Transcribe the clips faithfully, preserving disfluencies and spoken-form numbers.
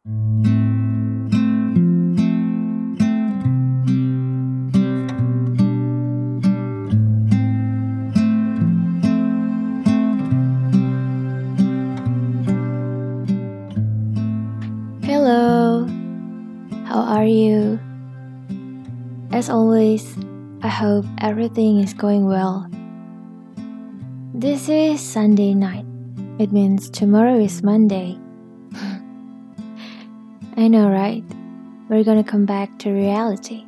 Hello, how are you? As always, I hope everything is going well. This is Sunday night. It means tomorrow is Monday. I know, right? We're gonna come back to reality.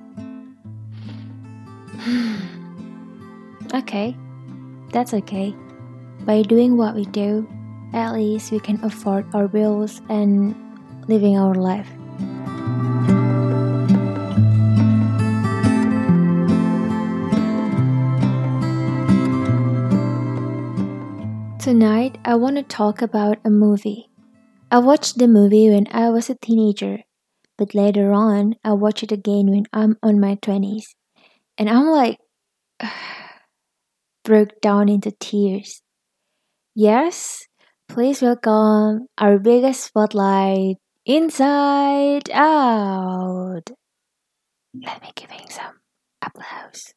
Okay, that's okay. By doing what we do, at least we can afford our bills and living our life. Tonight, I want to talk about a movie. I watched the movie when I was a teenager, but later on, I watched it again when I'm on my twenties. And I'm like, broke down into tears. Yes, please welcome our biggest spotlight, Inside Out. Let me give him some applause.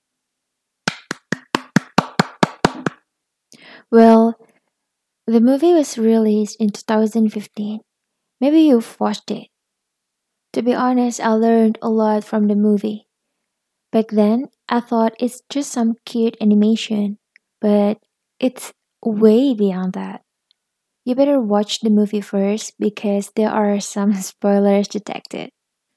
Well, the movie was released in two thousand fifteen. Maybe you've watched it. To be honest, I learned a lot from the movie. Back then, I thought it's just some cute animation, but it's way beyond that. You better watch the movie first because there are some spoilers detected.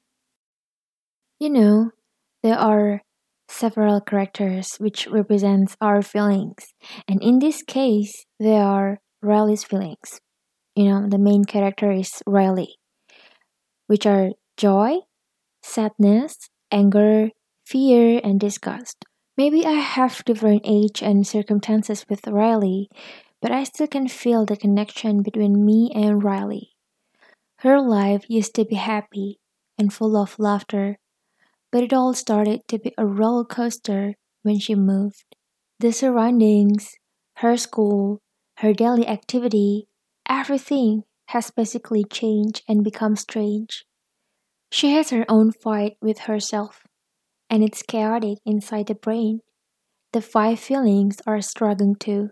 You know, there are several characters which represents our feelings, and in this case, they are Riley's feelings. You know, the main character is Riley, which are joy, sadness, anger, fear, and disgust. Maybe I have different age and circumstances with Riley, but I still can feel the connection between me and Riley. Her life used to be happy and full of laughter, but it all started to be a roller coaster when she moved. The surroundings, her school, her daily activity, everything has basically changed and become strange. She has her own fight with herself, and it's chaotic inside the brain. The five feelings are struggling too.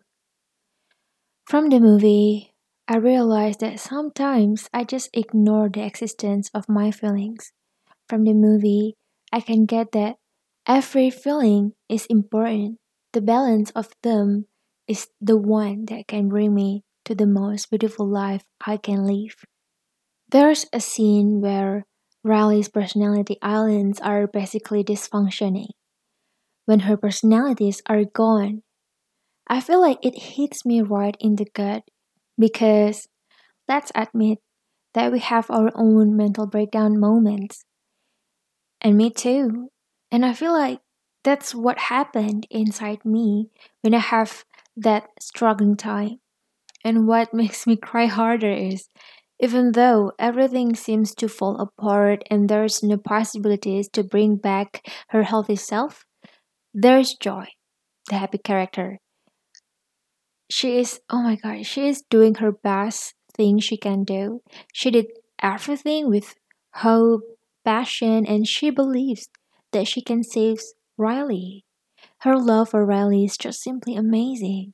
From the movie, I realized that sometimes I just ignore the existence of my feelings. From the movie, I can get that every feeling is important. The balance of them is the one that can bring me to the most beautiful life I can live. There's a scene where Riley's personality islands are basically dysfunctioning. When her personalities are gone, I feel like it hits me right in the gut because let's admit that we have our own mental breakdown moments. And me too. And I feel like that's what happened inside me when I have that struggling time. And what makes me cry harder is even though everything seems to fall apart and there's no possibilities to bring back her healthy self, there's Joy, the happy character. She is, oh my god, she is doing her best thing she can do. She did everything with hope, passion, and she believes that she can save Riley. Her love for Riley is just simply amazing.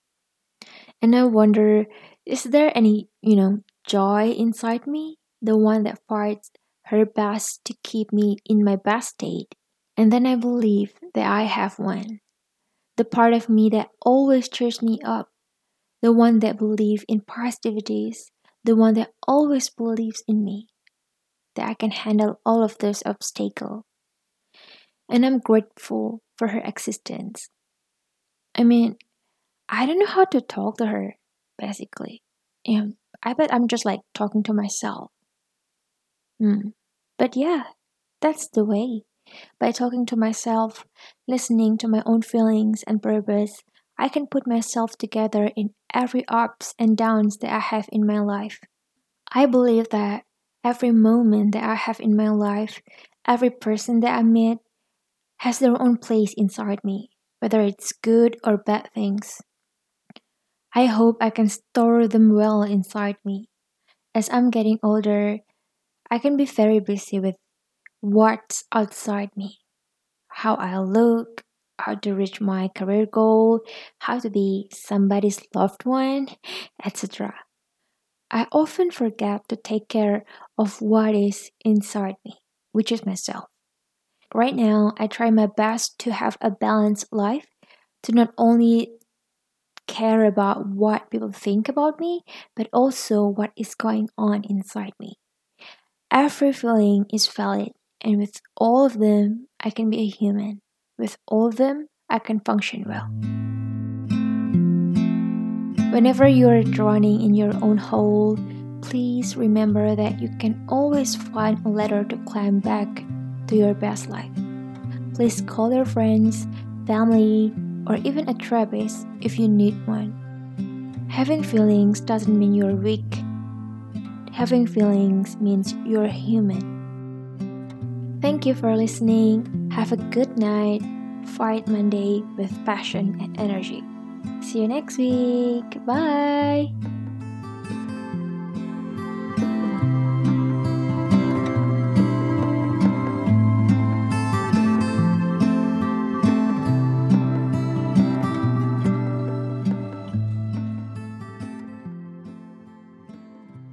And I wonder, is there any, you know, joy inside me? The one that fights her best to keep me in my best state. And then I believe that I have one. The part of me that always cheers me up. The one that believes in positivities. The one that always believes in me. That I can handle all of those obstacles. And I'm grateful for her existence. I mean, I don't know how to talk to her, basically. And I bet I'm just like talking to myself. Hmm. But yeah, that's the way. By talking to myself, listening to my own feelings and purpose, I can put myself together in every ups and downs that I have in my life. I believe that every moment that I have in my life, every person that I meet, has their own place inside me, whether it's good or bad things. I hope I can store them well inside me. As I'm getting older, I can be very busy with what's outside me, how I look, how to reach my career goal, how to be somebody's loved one, et cetera. I often forget to take care of what is inside me, which is myself. Right now, I try my best to have a balanced life, to not only care about what people think about me, but also what is going on inside me. Every feeling is valid, and with all of them, I can be a human. With all of them, I can function well. Whenever you're drowning in your own hole, please remember that you can always find a ladder to climb back to your best life. Please call your friends, family, or even a therapist if you need one. Having feelings doesn't mean you're weak. Having feelings means you're human. Thank you for listening. Have a good night. Fight Monday with passion and energy. See you next week. Bye.